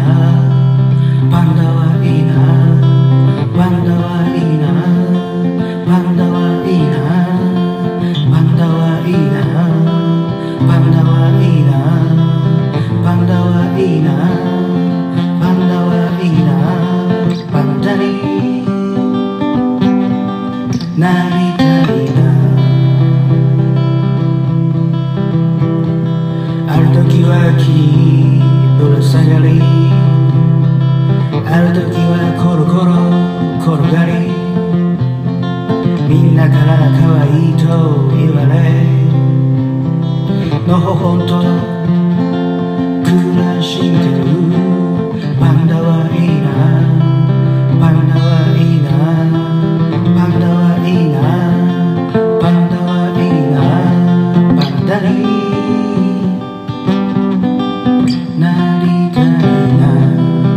パンダはいいな、パンダはいいな、パンダはいいな、パンダはいいな、パンダはいいな、パンダはいいな、パンダはいいな、パンダになりたいな。ある時は木にぶら下がり、ある時はコロコロ転がり、みんなから可愛いと言われ、のほほんと暮らしてる。パンダはいいな、パンダはいいな、パンダはいいな、パンダはいいな、パンダになりたいな。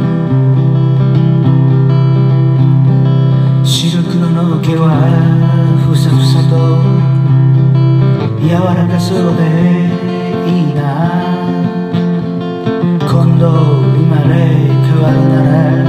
白黒の毛はふさふさと柔らかそうでいいな。今度生まれ変わるなら